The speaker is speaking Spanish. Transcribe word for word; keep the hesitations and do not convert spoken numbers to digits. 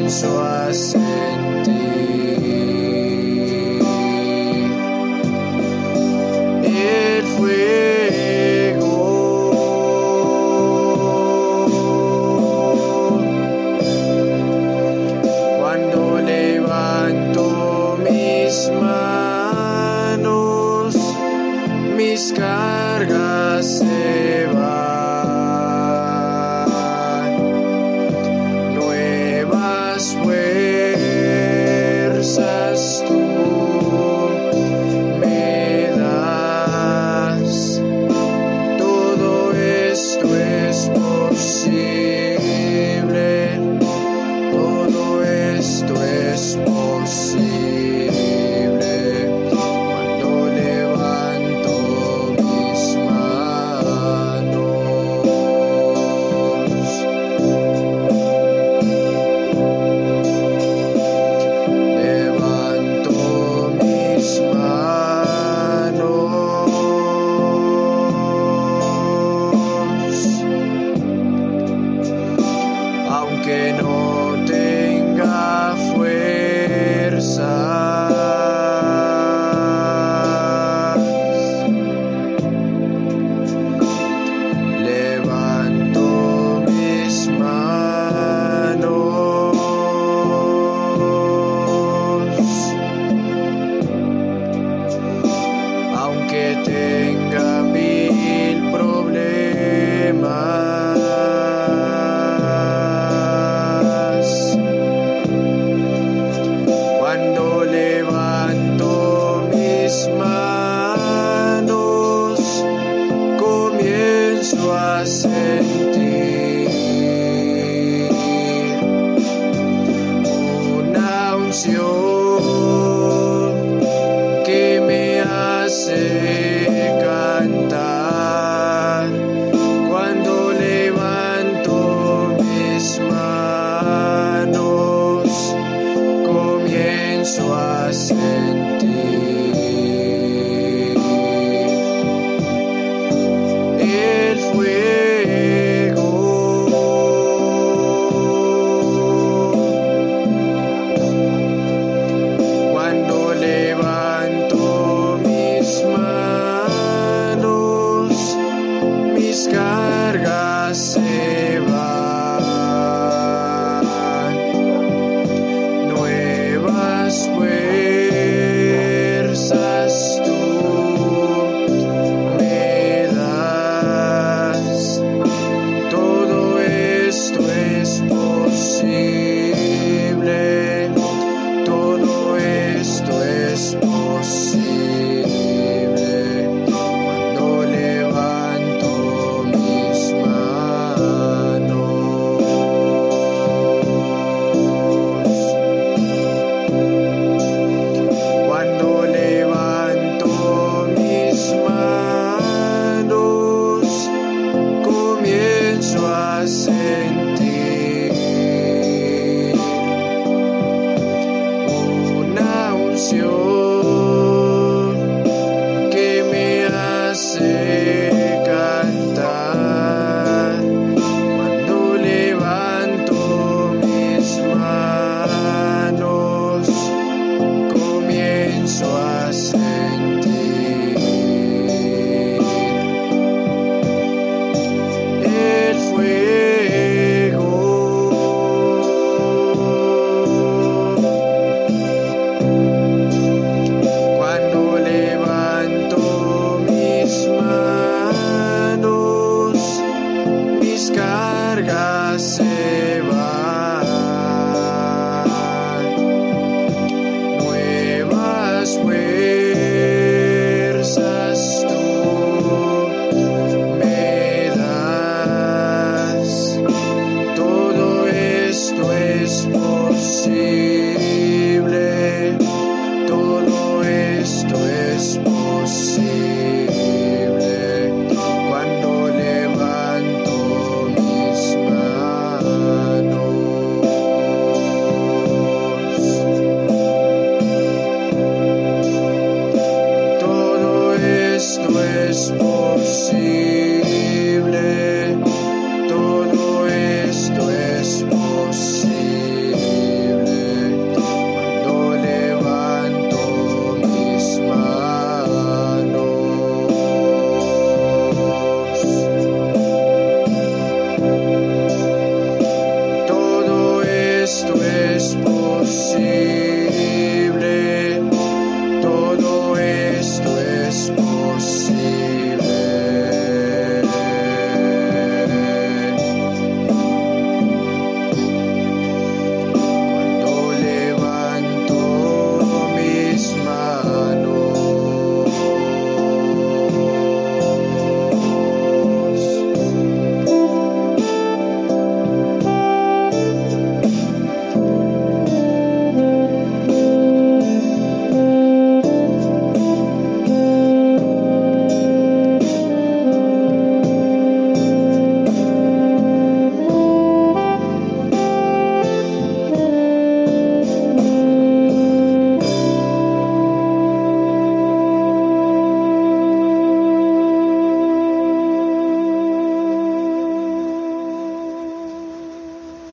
comienzo a sentir el fuego. Cuando levanto mis manos, mis cargas se van, nuevas fuerzas tú me das. Todo esto es posible, todo esto es posible. Que no tenga fuerzas, levanto mis manos, aunque tenga mil problemas. A sentir una unción que me hace cantar. Cuando levanto mis manos, comienzo a sentir el fuego. Cuando levanto mis manos, mis cargas se van, nuevas fuerzas tú me das. Todo esto es posible, todo esto es posible. Cuando levanto mis manos, cuando levanto mis manos, comienzo a sentir una unción